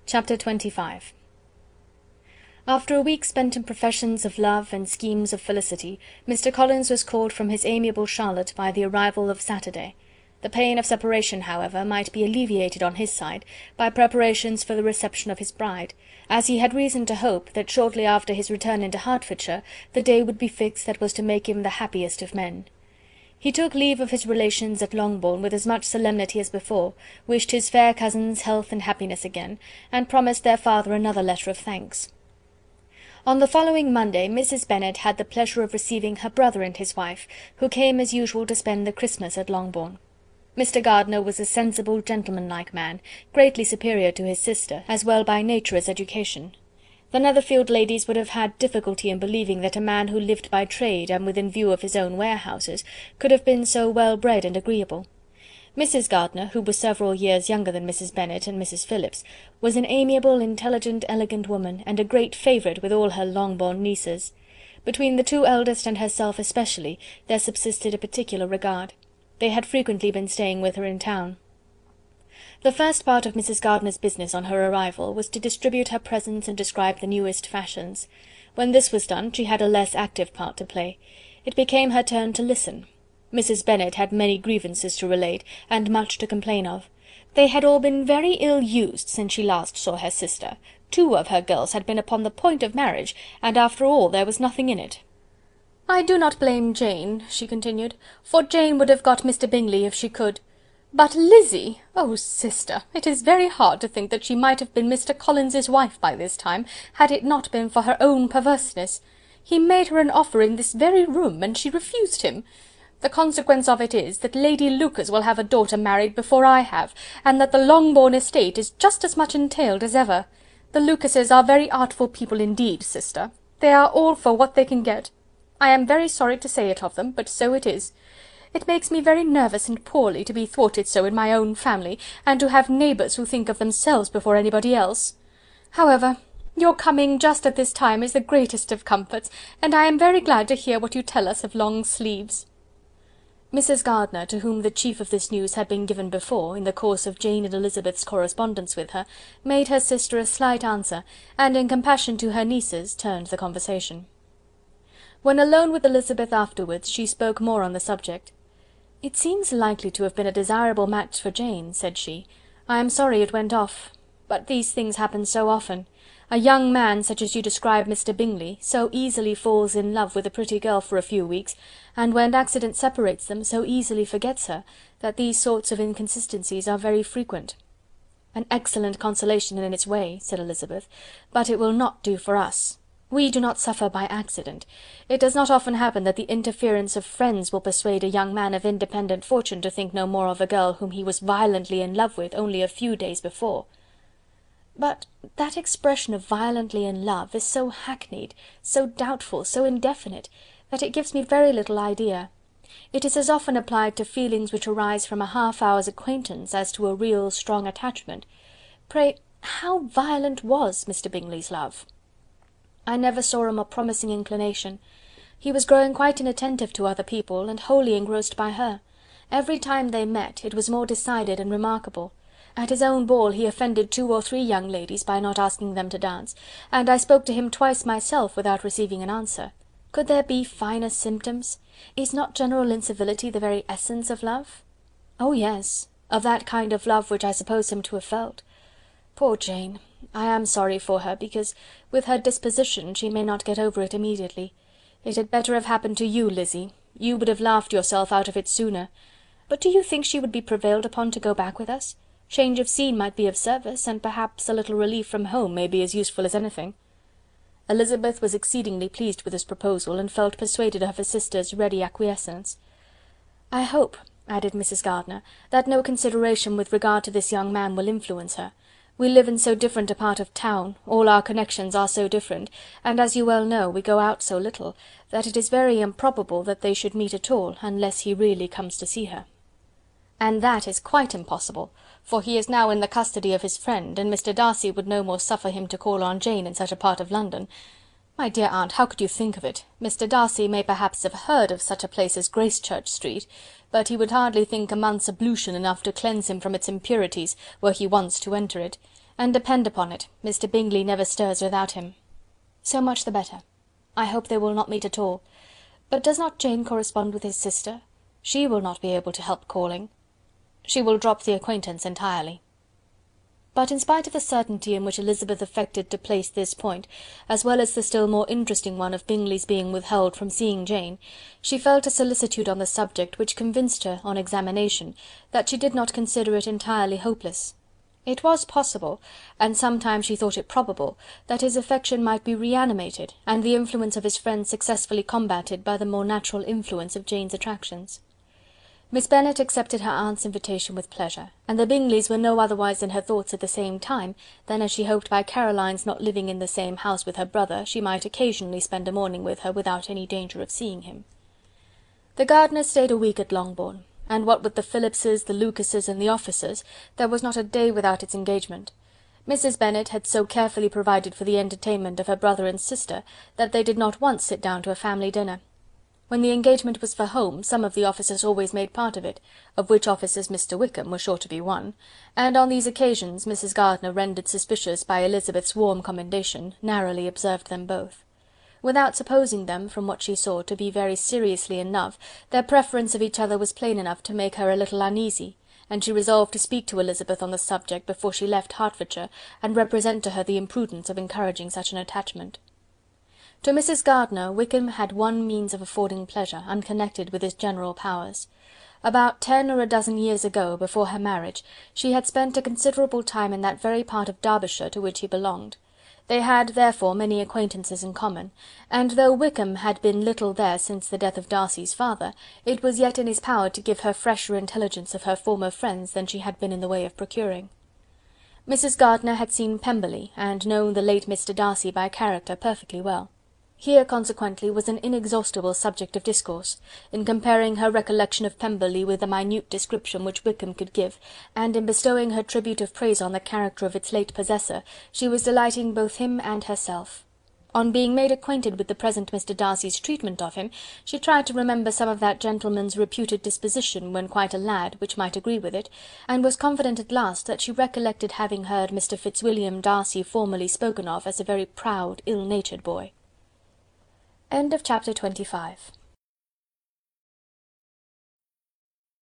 Chapter 25. After a week spent in professions of love and schemes of felicity, Mr. Collins was called from his amiable Charlotte by the arrival of Saturday. The pain of separation, however, might be alleviated on his side by preparations for the reception of his bride, as he had reason to hope that shortly after his return into Hertfordshire the day would be fixed that was to make him the happiest of men. He took leave of his relations at Longbourn with as much solemnity as before, wished his fair cousins health and happiness again, and promised their father another letter of thanks. On the following Monday Mrs. Bennet had the pleasure of receiving her brother and his wife, who came as usual to spend the Christmas at Longbourn. Mr. Gardiner was a sensible, gentlemanlike man, greatly superior to his sister, as well by nature as education. The Netherfield ladies would have had difficulty in believing that a man who lived by trade and within view of his own warehouses could have been so well bred and agreeable. Mrs. Gardiner, who was several years younger than Mrs. Bennet and Mrs. Phillips, was an amiable, intelligent, elegant woman, and a great favourite with all her Longbourn nieces. Between the two eldest and herself especially there subsisted a particular regard. They had frequently been staying with her in town. The first part of Mrs. Gardiner's business on her arrival was to distribute her presents and describe the newest fashions. When this was done, she had a less active part to play. It became her turn to listen. Mrs. Bennet had many grievances to relate, and much to complain of. They had all been very ill used since she last saw her sister. 2 of her girls had been upon the point of marriage, and after all there was nothing in it. "I do not blame Jane," she continued, "for Jane would have got Mr. Bingley if she could. But Lizzy! Oh, sister, it is very hard to think that she might have been Mr. Collins's wife by this time, had it not been for her own perverseness. He made her an offer in this very room, and she refused him. The consequence of it is, that Lady Lucas will have a daughter married before I have, and that the Longbourn estate is just as much entailed as ever. The Lucases are very artful people indeed, sister. They are all for what they can get. I am very sorry to say it of them, but so it is. It makes me very nervous and poorly to be thwarted so in my own family, and to have neighbours who think of themselves before anybody else. However, your coming just at this time is the greatest of comforts, and I am very glad to hear what you tell us of long sleeves." Mrs. Gardiner, to whom the chief of this news had been given before, in the course of Jane and Elizabeth's correspondence with her, made her sister a slight answer, and in compassion to her nieces, turned the conversation. When alone with Elizabeth afterwards, she spoke more on the subject. "It seems likely to have been a desirable match for Jane," said she. "I am sorry it went off. But these things happen so often. A young man, such as you describe Mr. Bingley, so easily falls in love with a pretty girl for a few weeks, and when accident separates them, so easily forgets her, that these sorts of inconsistencies are very frequent." "An excellent consolation in its way," said Elizabeth, "but it will not do for us. We do not suffer by accident. It does not often happen that the interference of friends will persuade a young man of independent fortune to think no more of a girl whom he was violently in love with only a few days before." "But that expression of violently in love is so hackneyed, so doubtful, so indefinite, that it gives me very little idea. It is as often applied to feelings which arise from a half-hour's acquaintance as to a real strong attachment. Pray, how violent was Mr. Bingley's love?" "I never saw a more promising inclination. He was growing quite inattentive to other people, and wholly engrossed by her. Every time they met, it was more decided and remarkable. At his own ball he offended 2 or 3 young ladies by not asking them to dance, and I spoke to him twice myself without receiving an answer. Could there be finer symptoms? Is not general incivility the very essence of love?" "Oh yes, of that kind of love which I suppose him to have felt. Poor Jane! I am sorry for her, because, with her disposition, she may not get over it immediately. It had better have happened to you, Lizzy. You would have laughed yourself out of it sooner. But do you think she would be prevailed upon to go back with us? Change of scene might be of service, and perhaps a little relief from home may be as useful as anything." Elizabeth was exceedingly pleased with this proposal, and felt persuaded of her sister's ready acquiescence. "I hope," added Mrs. Gardiner, "that no consideration with regard to this young man will influence her. We live in so different a part of town, all our connections are so different, and as you well know, we go out so little, that it is very improbable that they should meet at all, unless he really comes to see her." "And that is quite impossible, for he is now in the custody of his friend, and Mr. Darcy would no more suffer him to call on Jane in such a part of London. My dear aunt, how could you think of it? Mr. Darcy may perhaps have heard of such a place as Gracechurch Street, but he would hardly think a month's ablution enough to cleanse him from its impurities, were he once to enter it. and depend upon it, Mr. Bingley never stirs without him." "So much the better. I hope they will not meet at all. But does not Jane correspond with his sister? She will not be able to help calling." "She will drop the acquaintance entirely." But in spite of the certainty in which Elizabeth affected to place this point, as well as the still more interesting one of Bingley's being withheld from seeing Jane, she felt a solicitude on the subject which convinced her, on examination, that she did not consider it entirely hopeless. It was possible, and sometimes she thought it probable, that his affection might be reanimated, and the influence of his friends successfully combated by the more natural influence of Jane's attractions. Miss Bennet accepted her aunt's invitation with pleasure, and the Bingleys were no otherwise in her thoughts at the same time than as she hoped by Caroline's not living in the same house with her brother, she might occasionally spend a morning with her without any danger of seeing him. The Gardiners stayed a week at Longbourn, and what with the Phillipses, the Lucases, and the officers, there was not a day without its engagement. Mrs. Bennet had so carefully provided for the entertainment of her brother and sister, that they did not once sit down to a family dinner. When the engagement was for home, some of the officers always made part of it, of which officers Mr. Wickham was sure to be one, and on these occasions Mrs. Gardiner, rendered suspicious by Elizabeth's warm commendation, narrowly observed them both. Without supposing them, from what she saw, to be very seriously in love, their preference of each other was plain enough to make her a little uneasy, and she resolved to speak to Elizabeth on the subject before she left Hertfordshire, and represent to her the imprudence of encouraging such an attachment. To Mrs. Gardiner, Wickham had one means of affording pleasure, unconnected with his general powers. About 10 or a dozen years ago, before her marriage, she had spent a considerable time in that very part of Derbyshire to which he belonged. They had, therefore, many acquaintances in common, and though Wickham had been little there since the death of Darcy's father, it was yet in his power to give her fresher intelligence of her former friends than she had been in the way of procuring. Mrs. Gardiner had seen Pemberley, and known the late Mr. Darcy by character perfectly well. Here, consequently, was an inexhaustible subject of discourse, in comparing her recollection of Pemberley with the minute description which Wickham could give, and in bestowing her tribute of praise on the character of its late possessor, she was delighting both him and herself. On being made acquainted with the present Mr. Darcy's treatment of him, she tried to remember some of that gentleman's reputed disposition when quite a lad, which might agree with it, and was confident at last that she recollected having heard Mr. Fitzwilliam Darcy formerly spoken of as a very proud, ill-natured boy. Chapter 25